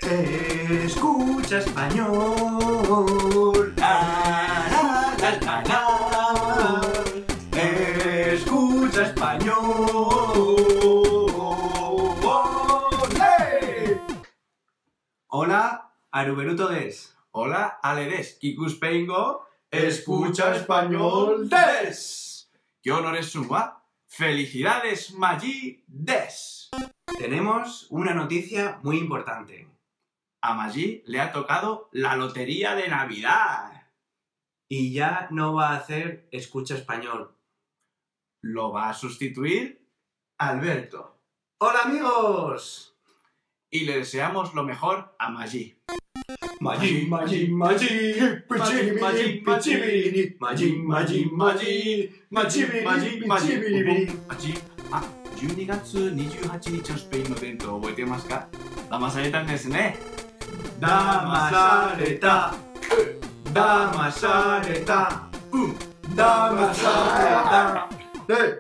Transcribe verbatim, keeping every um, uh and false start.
Escucha español. La, la, la, la, la. Escucha español. ¡Hey! Hola, Aruberuto des. Hola, ale des. Kikuspengo. Escucha español des. Kyonoresuma. Felicidades, Magi des. Tenemos una noticia muy importante. A Magi le ha tocado la lotería de Navidad. Y ya no va a hacer Escucha español. Lo va a sustituir Alberto. ¡Hola, amigos! Y le deseamos lo mejor a Magi. Magi, Magi, Magi, Magi, Magi, Magi, Magi, Magi, Magi, Magi, Magi, Magi。あ、じゅうにがつにじゅうはちにちのスペインの弁当覚えてますか？騙されたんですね。 騙された。騙された。騙された。